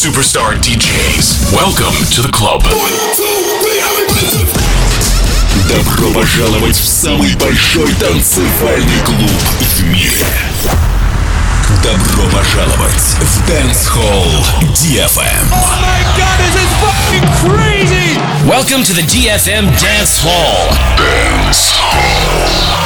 superstar DJs. Welcome to the club. Добро пожаловать в самый большой танцевальный клуб в мире. Добро пожаловать в Dance Hall DFM. Oh my god, this is fucking crazy! Welcome to the DFM Dance Hall. Dance Hall.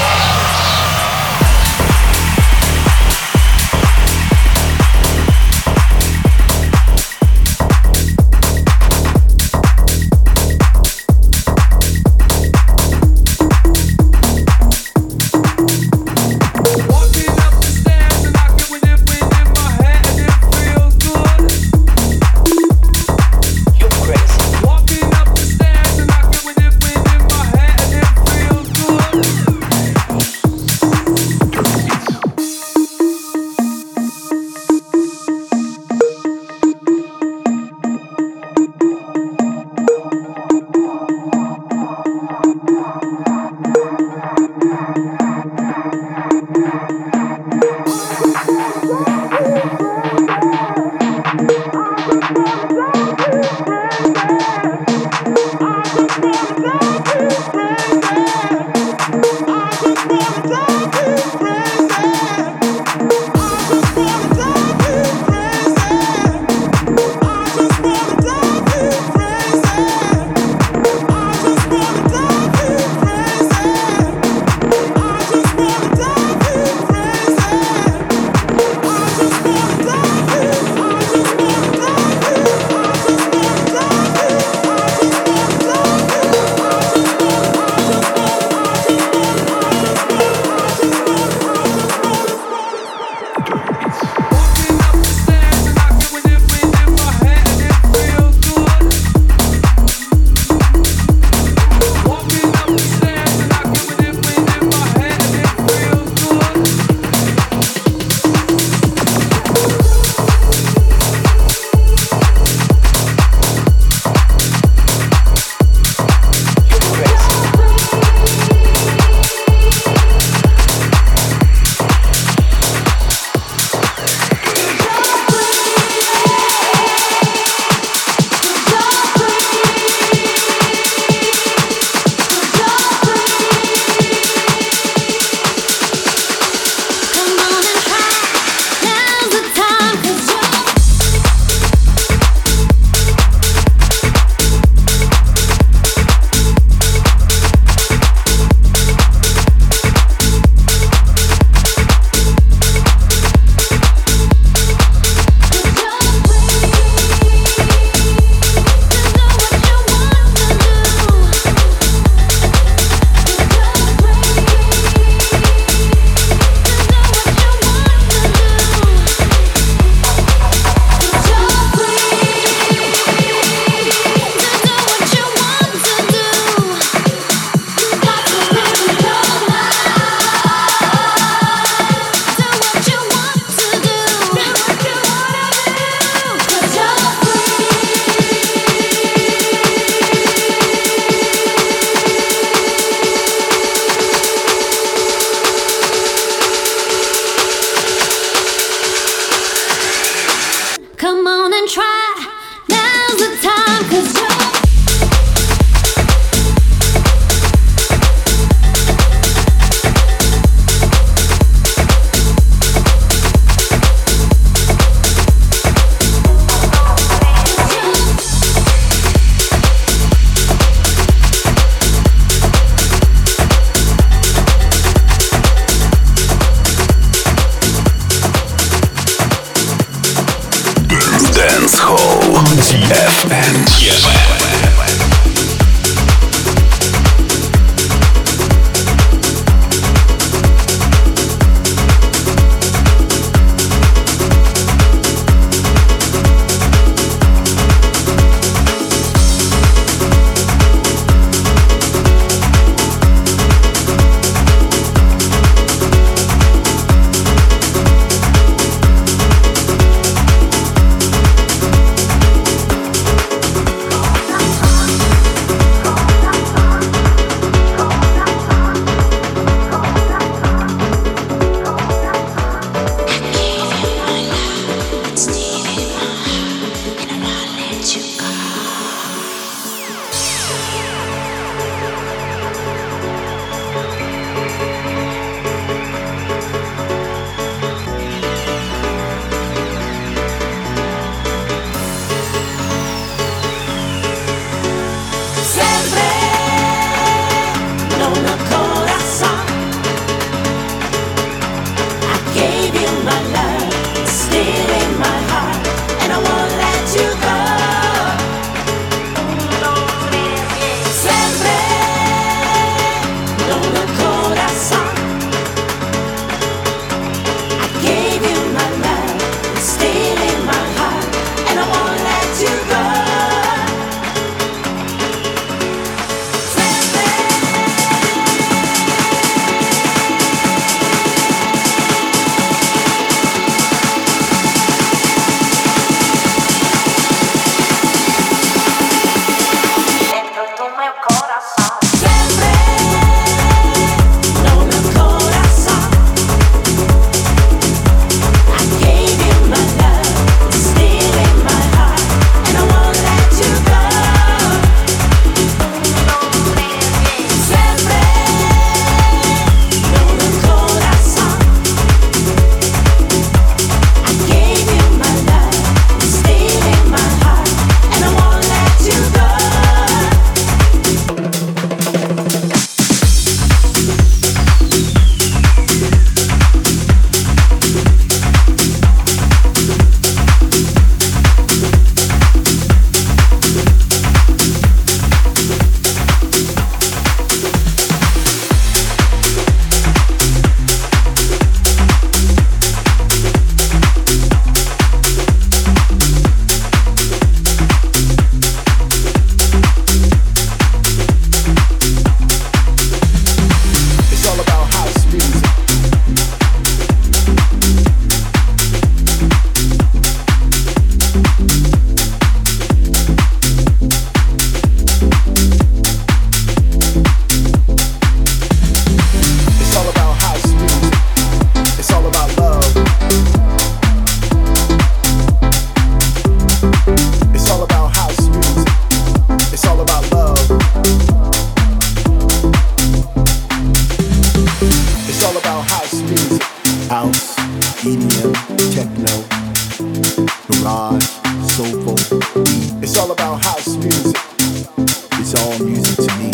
all about house music. It's all music to me.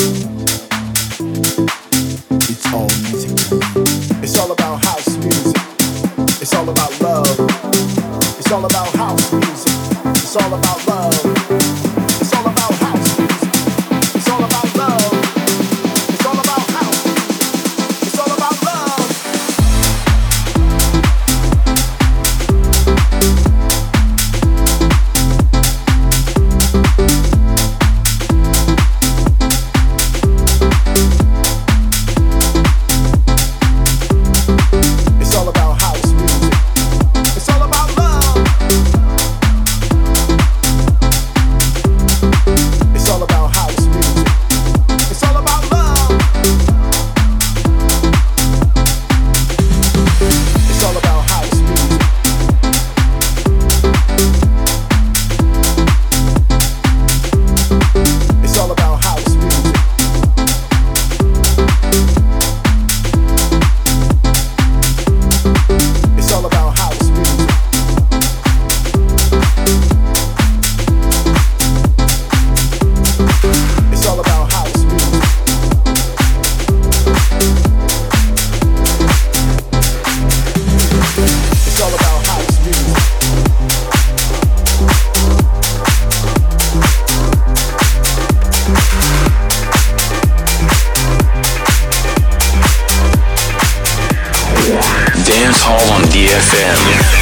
It's all music to me. It's all about house music. It's all about love. It's all about house music. It's all about love. It's all about house music. It's all about love. It's all about house music. It's all about love. Dance Hall on DFM.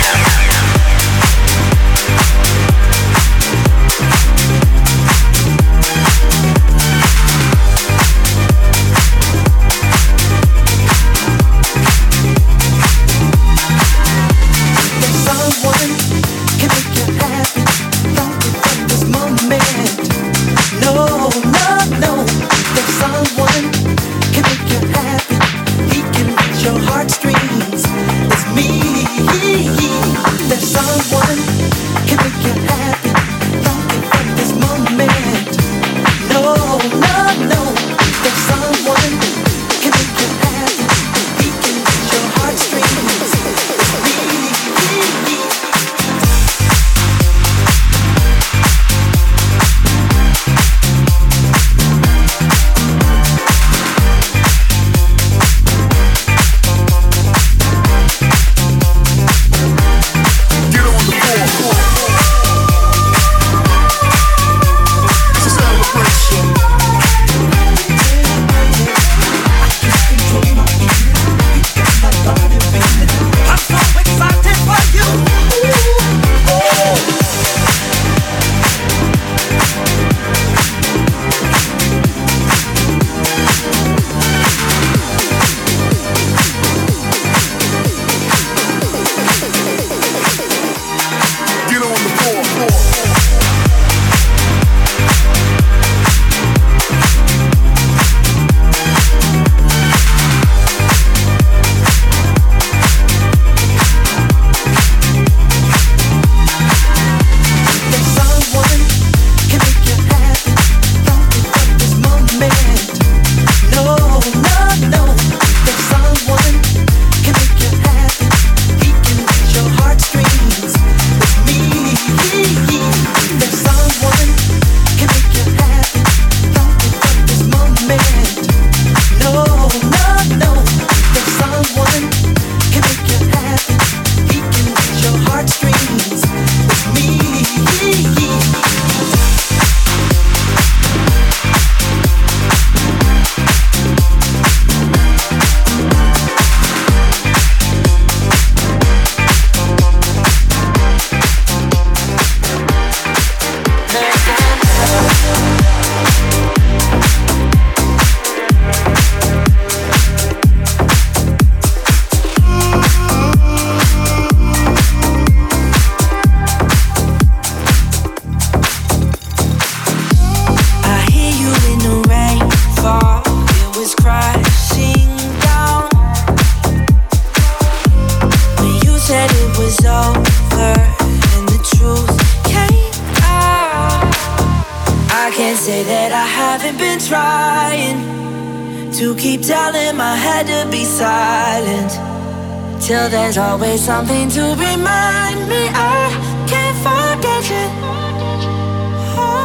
Till there's always something to remind me I can't forget you. Oh.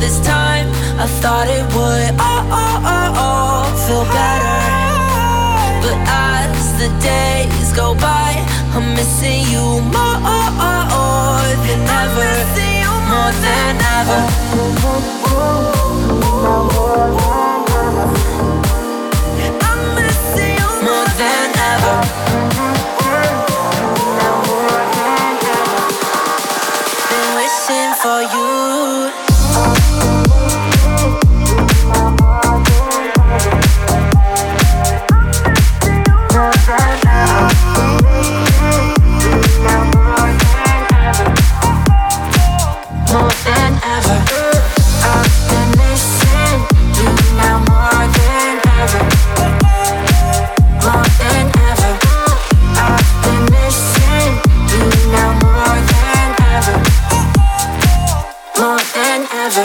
this time. I thought it would feel better. But as the days go by, I'm missing you more than ever. More than ever. I'm missing you more than ever. Been wishing for you. More than ever. I've been missing you now more than ever. More than ever. I've been missing you now more than ever. More than ever.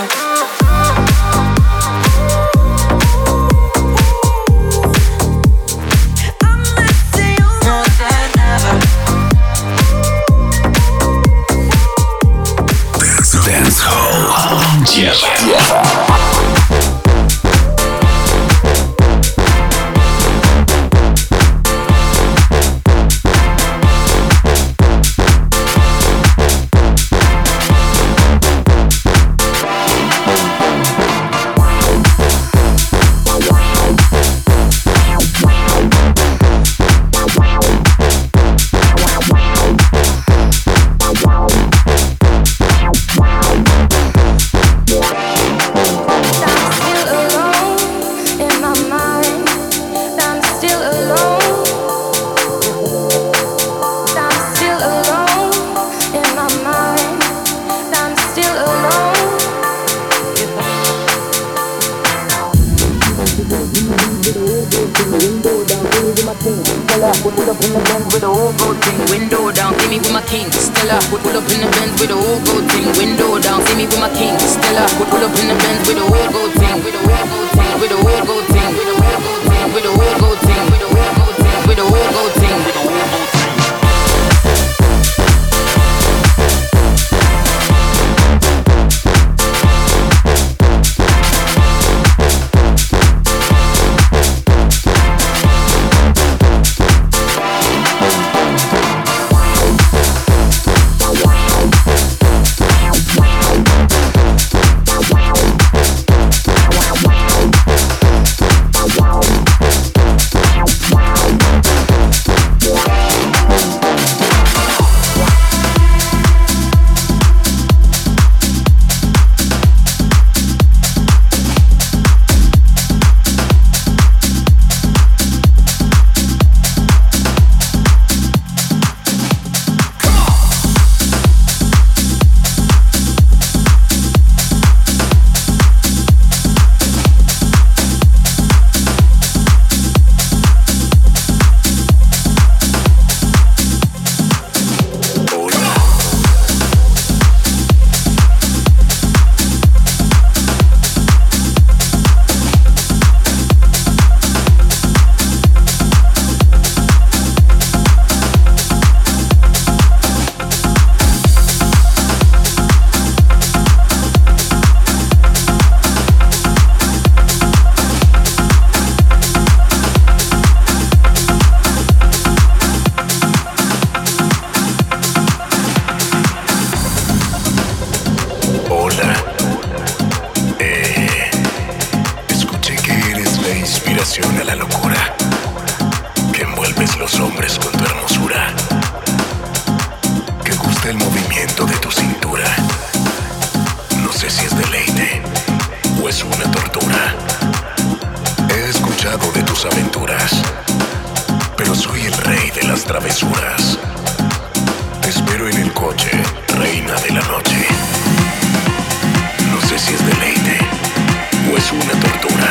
I'm missing you more than ever. Dance Hall. Pull up in the Benz with a whole gold thing, window down, see me with my king, Stella. Pull up in the Benz with a whole gold thing, window down, see me with my king, Stella. Pull up in the Benz with a whole gold thing, with a whole gold thing, with a whole gold thing, with a whole gold thing, with a whole gold thing, with a whole gold thing, with a whole gold thing, with a whole gold thing. A la locura que envuelves los hombres con tu hermosura, que gusta el movimiento de tu cintura. No sé si es deleite o es una tortura. He escuchado de tus aventuras, pero soy el rey de las travesuras. Te espero en el coche, reina de la noche. No sé si es deleite o es una tortura.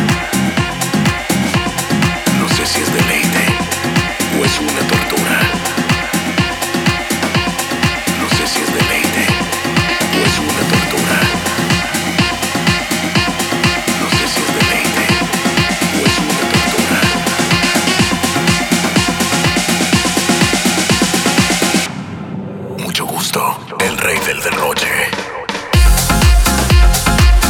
No sé si es deleite o es una tortura. No sé si es deleite o es una tortura. No sé si es deleite o es una tortura. Mucho gusto, el rey del derroche.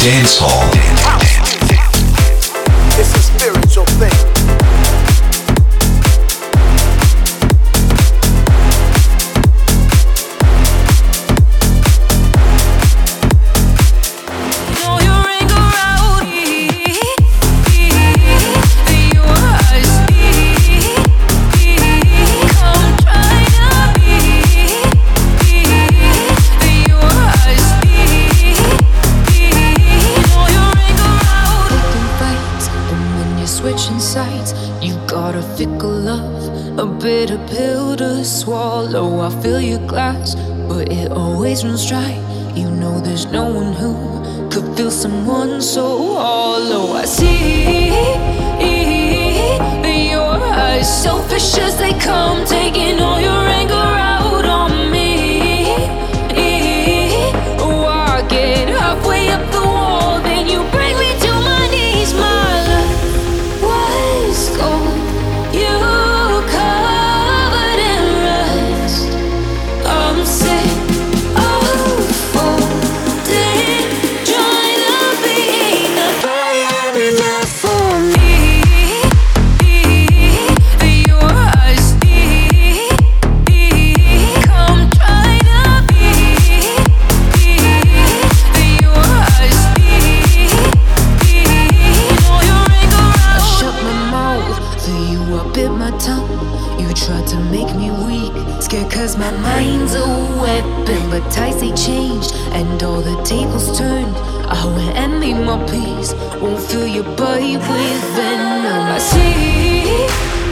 Dance Hall. It's a spiritual thing. Bitter pill to swallow. I fill your glass, but it always runs dry. You know there's no one who could feel someone so hollow. I see your eyes, selfish as they come, taking all your anger out on me. Oh, I get halfway up the wall, then you bring me to my knees. My love was gold. You cause my mind's a weapon, but ties they changed and all the tables turned. I went and made my peace, won't fill your body with venom. I see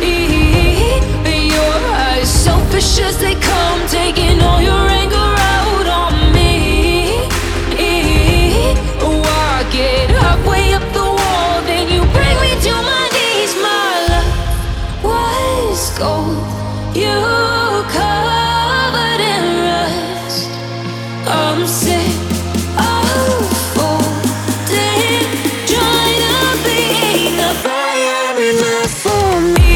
your eyes, selfish as they come, taking all your anger out on me. Oh, I get halfway up the wall, then you bring me to my knees. My love was gold. You covered in rust. I'm sick of folding, trying to be the fire enough for me.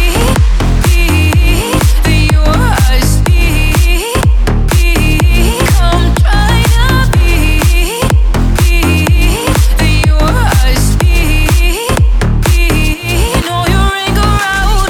Your eyes, come try to be. Your eyes, know your anger out.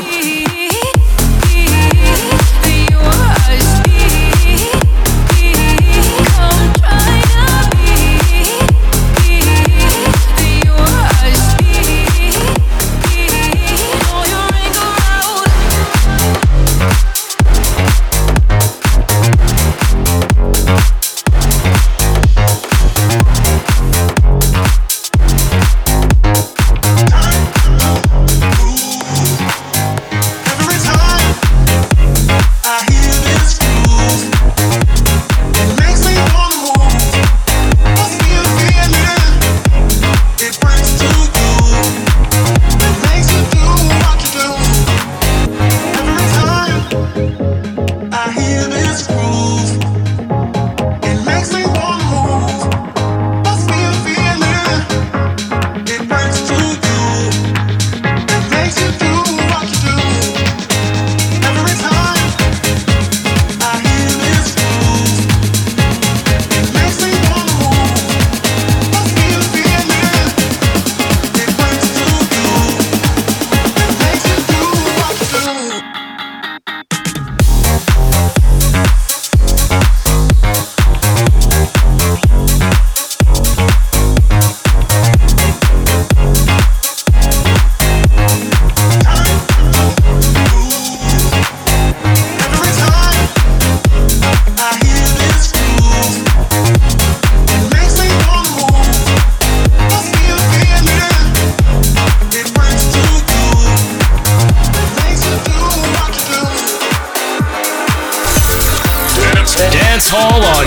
Dance Hall on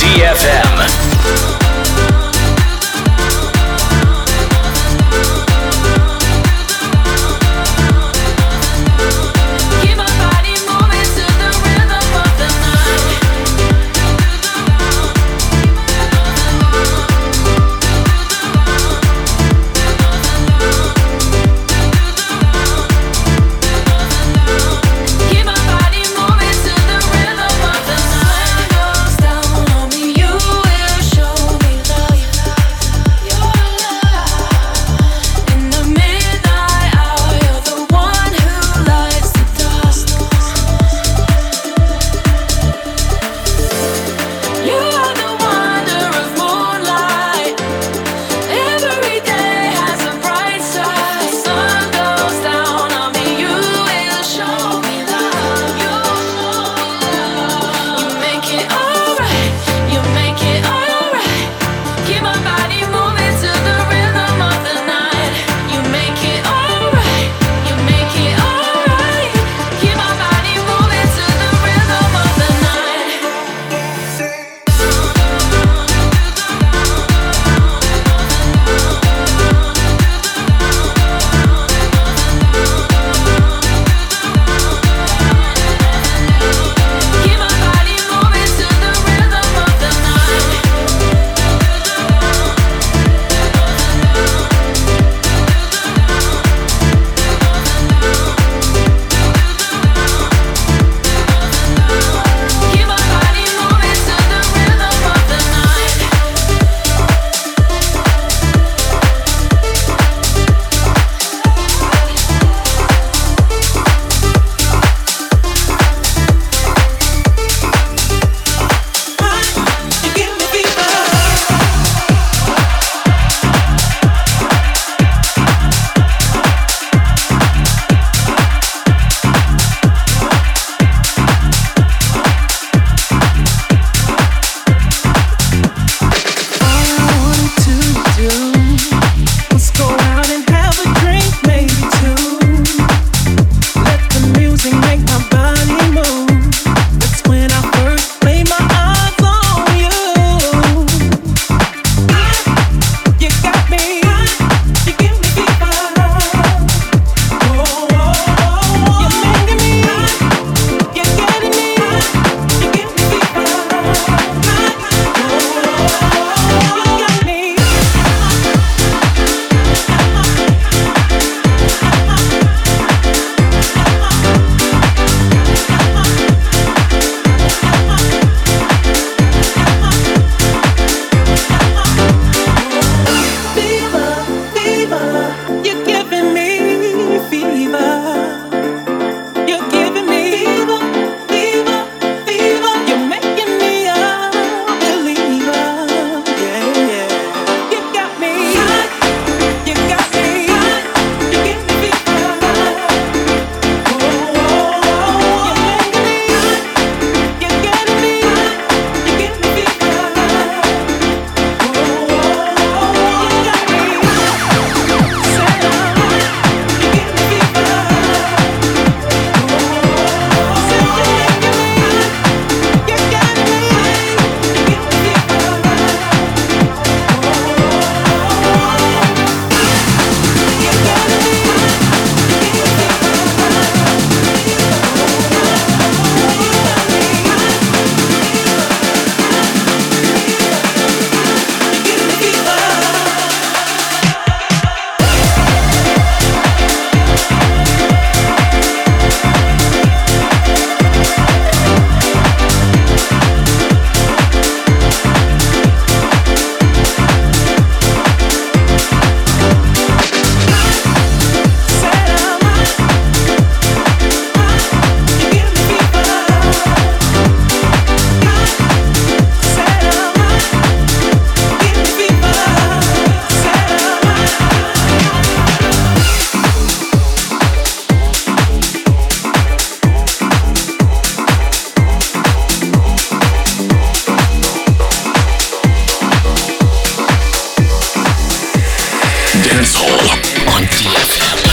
DFM. Down on me, you will show. Dance Hall on DFM.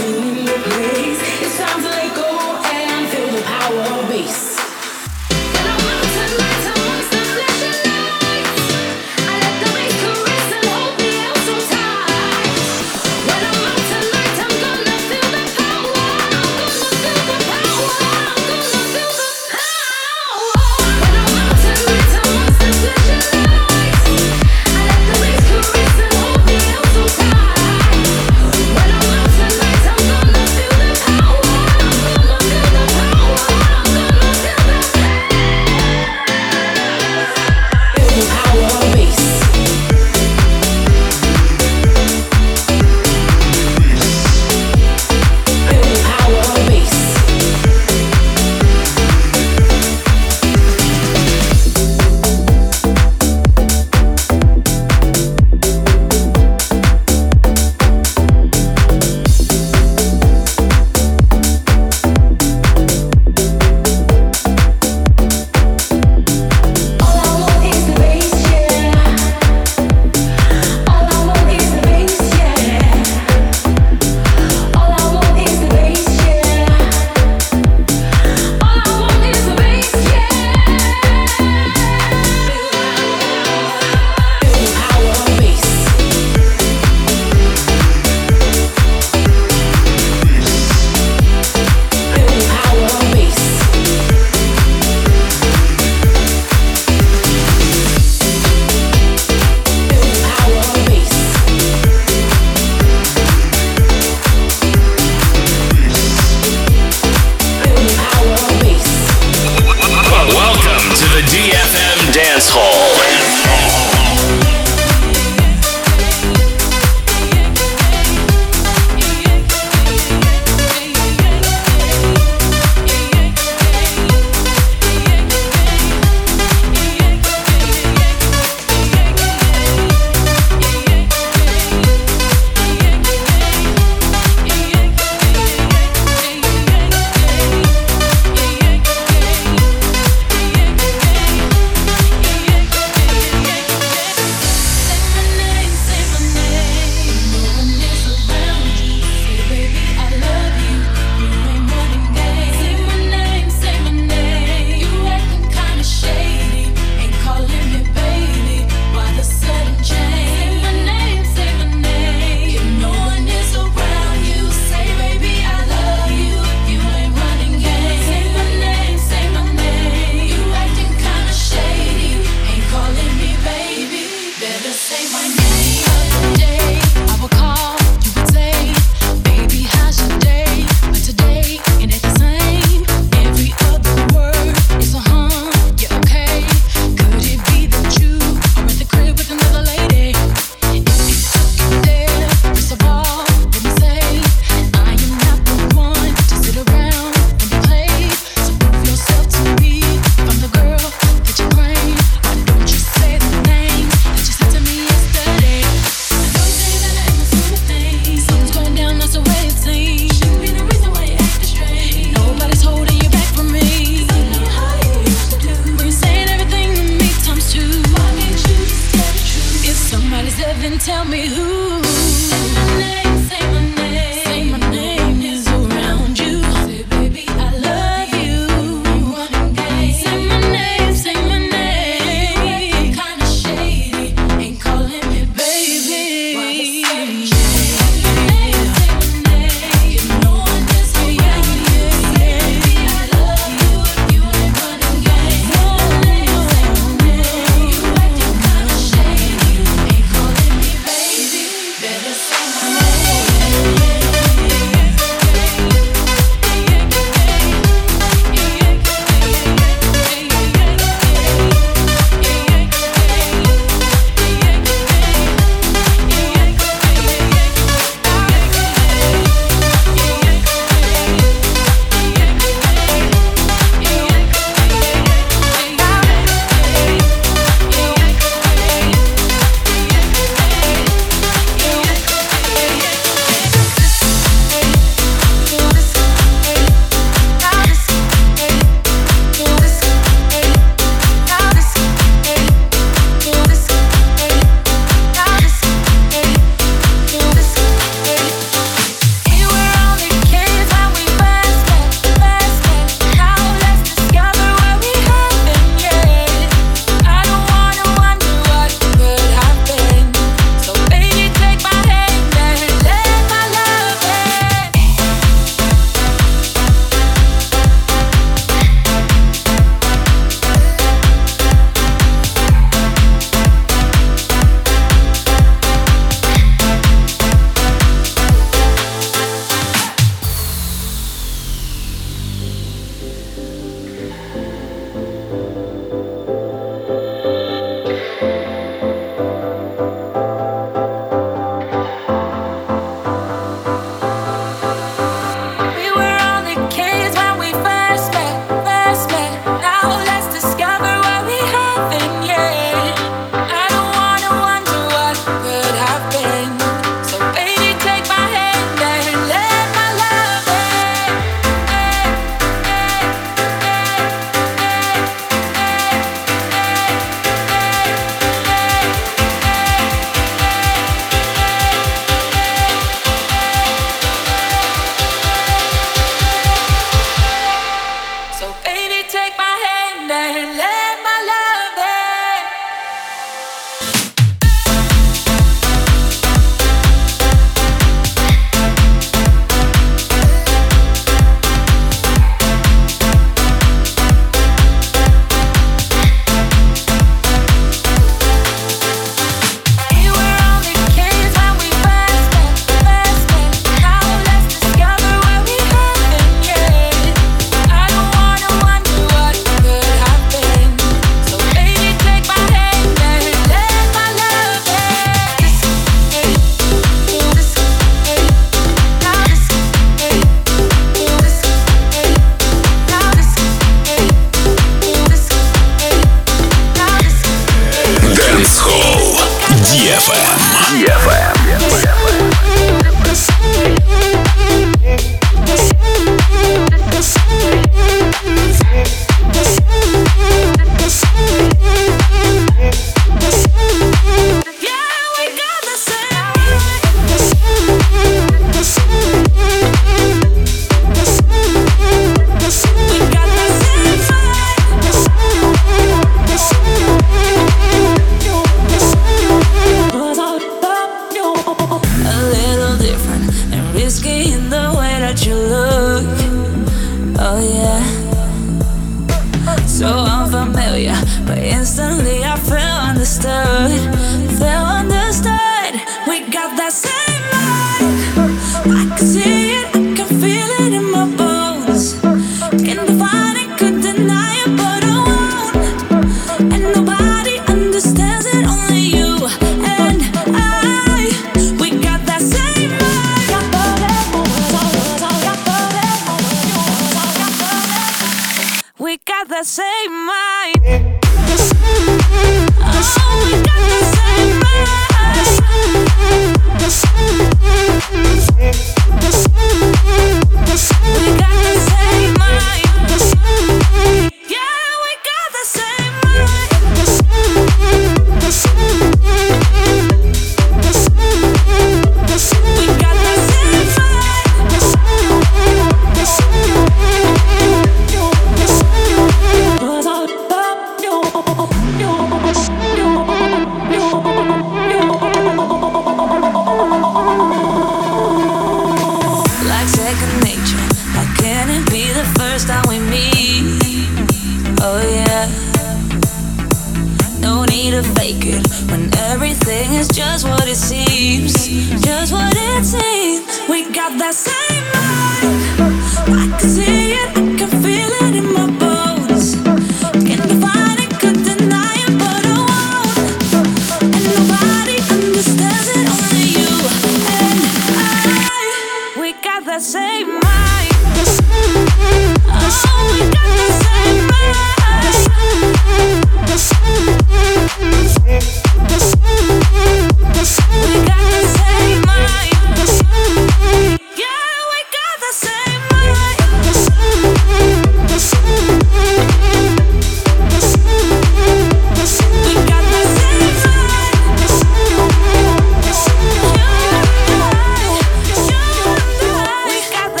We got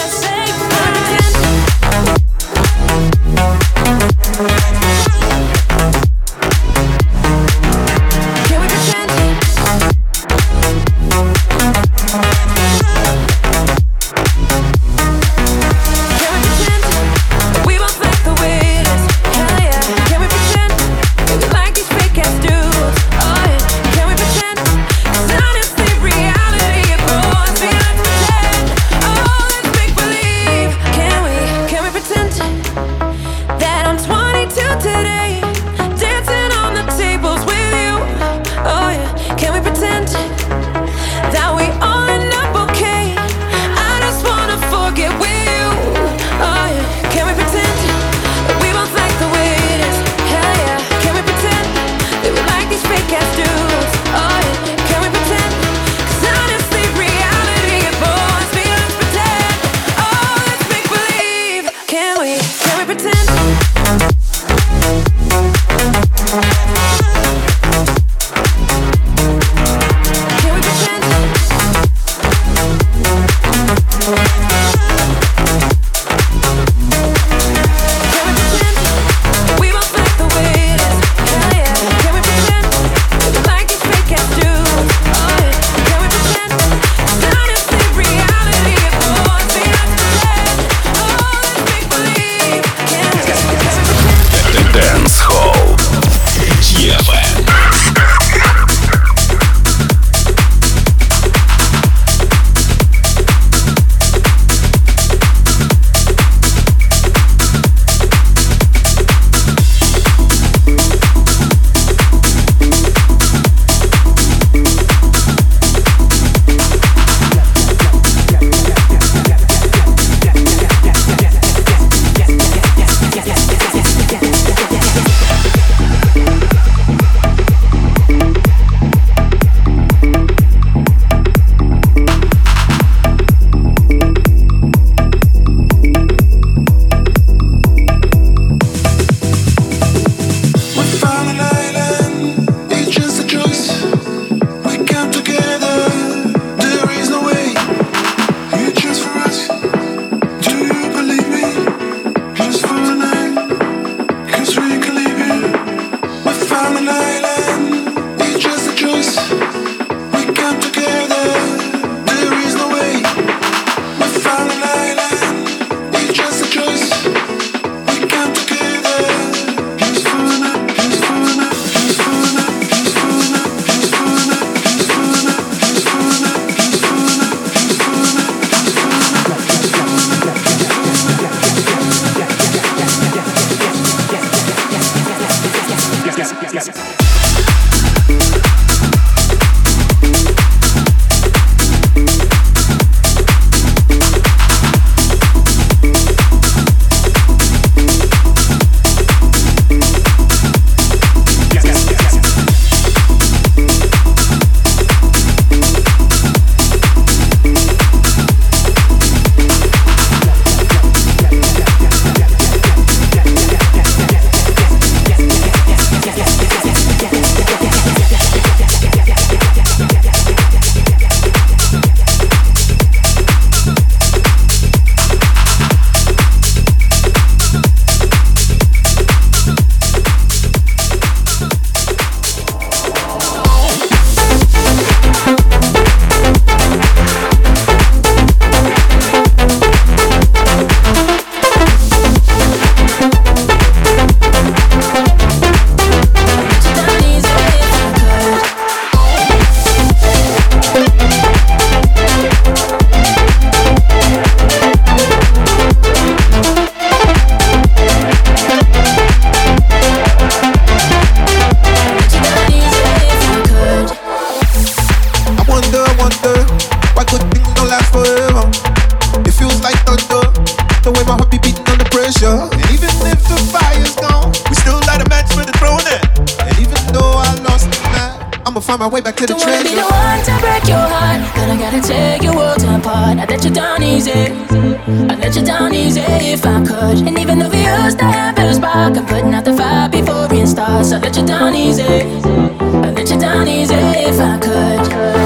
last forever. It feels like thunder, the way my heart be beating under pressure. And even if the fire's gone, we still light a match for the throne. And even though I lost the night, I'ma find my way back to the treasure. Don't wanna be the one to break your heart, but I gotta take your world apart. I'd let you down easy, I'd let you down easy if I could. And even though we used to have a spark, I'm putting out the fire before it starts. I'd let you down easy, I'd let you down easy if I could.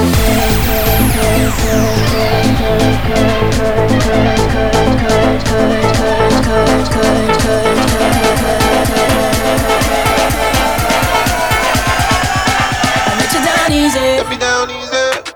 Let me down easy.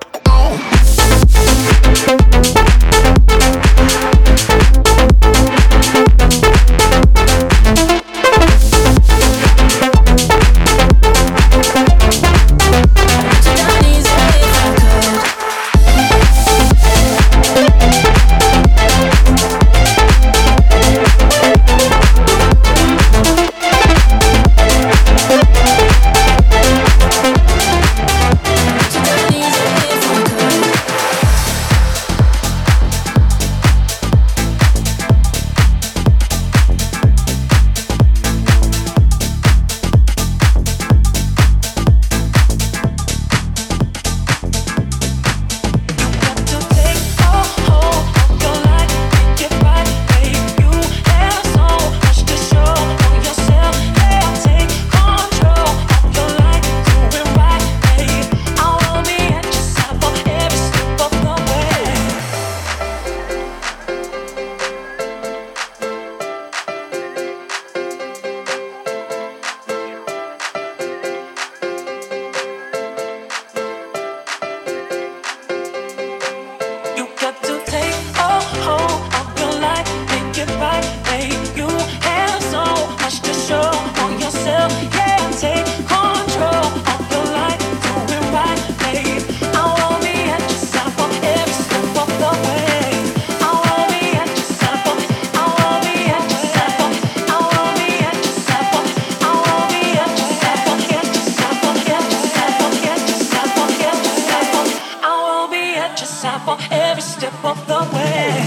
Every step of the way.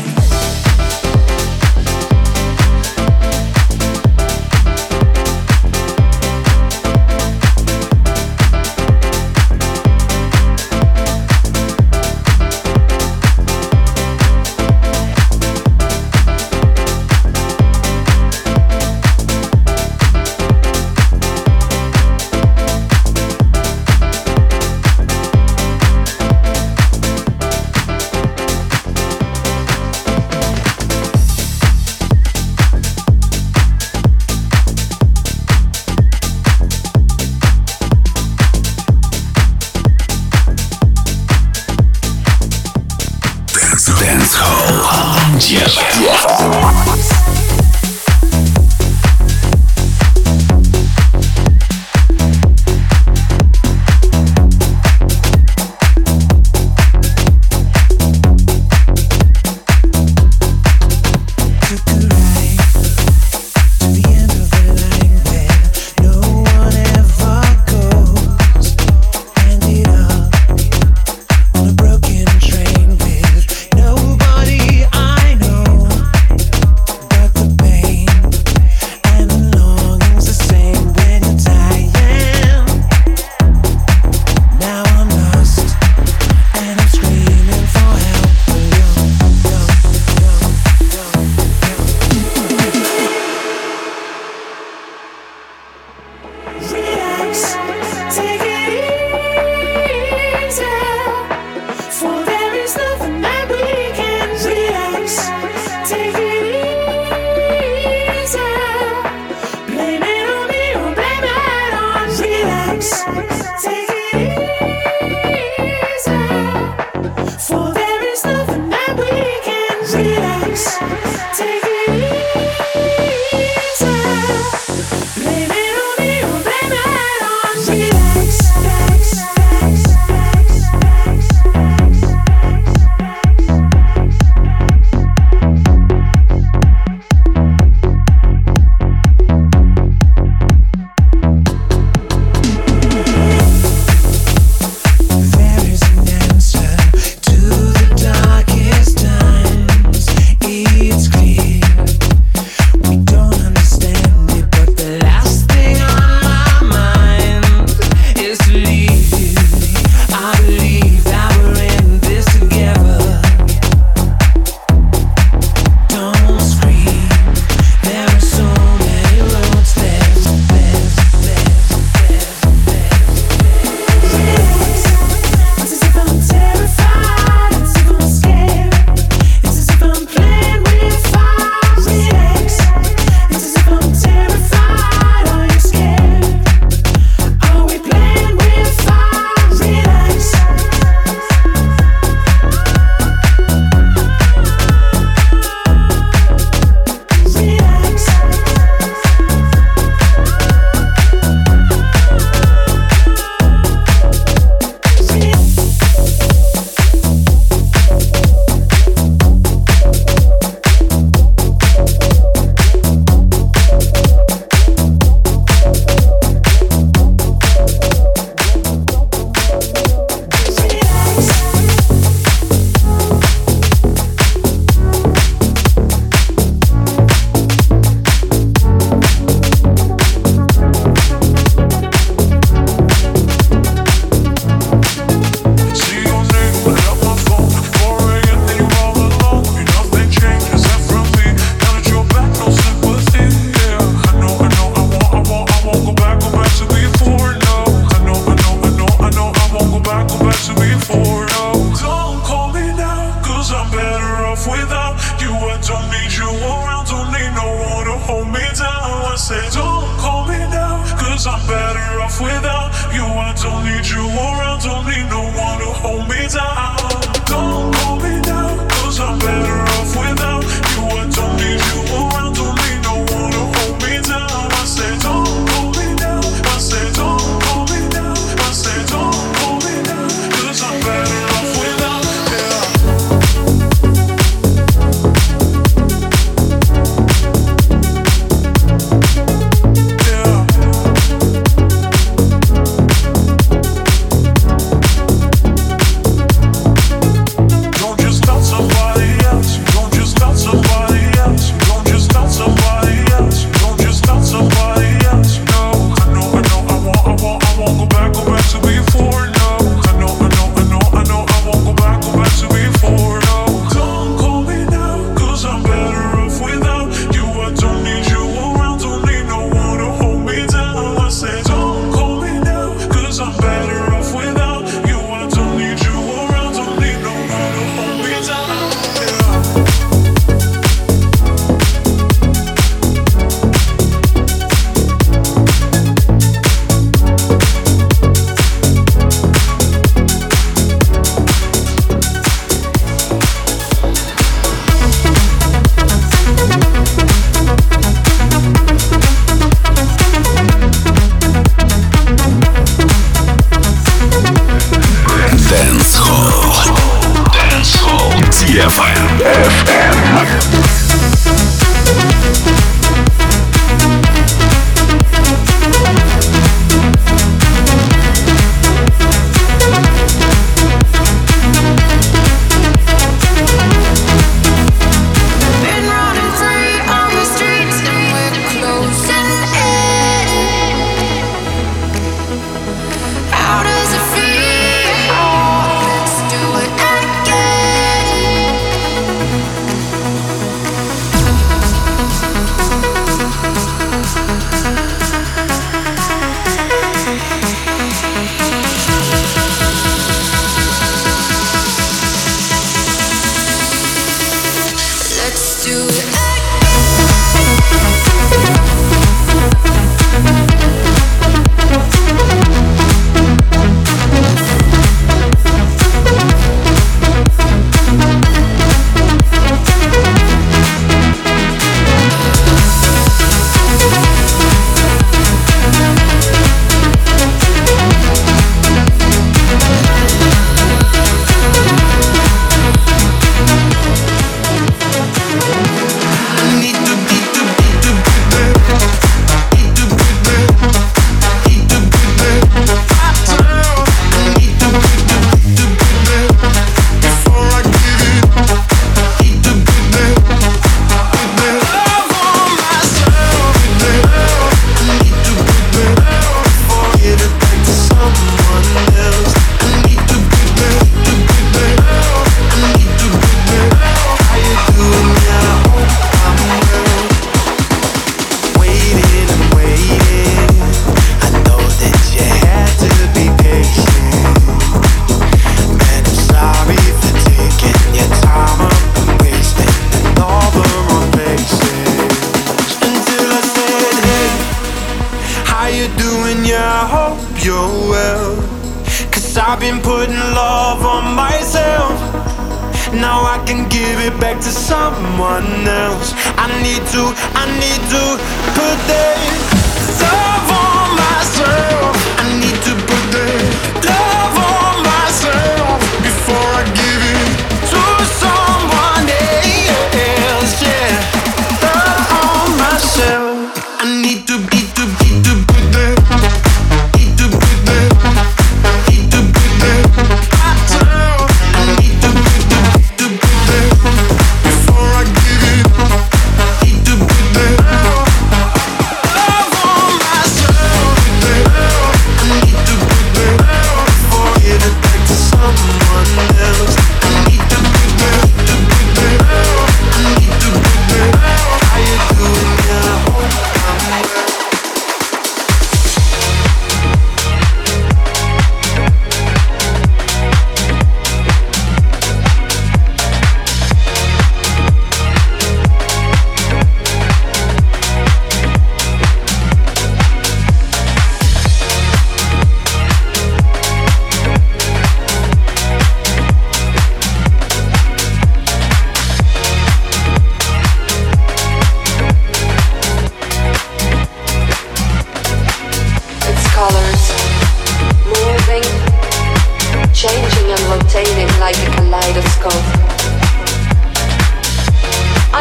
Broken train with nobody I know. off without you. I don't need you around, don't need no one to hold me down. I say don't call me now, cause I'm better off without you. I don't need you around, don't need no one to hold me down. Don't call me now, cause I'm better off without you. I don't need you around, don't need no one to hold me down. I say don't call me now, I say don't call me now, I say don't call me now, cause I'm better off without, yeah.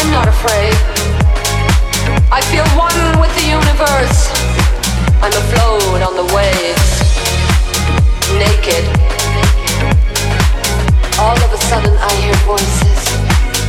I'm not afraid. I feel one with the universe. I'm afloat on the waves, naked. All of a sudden I hear voices.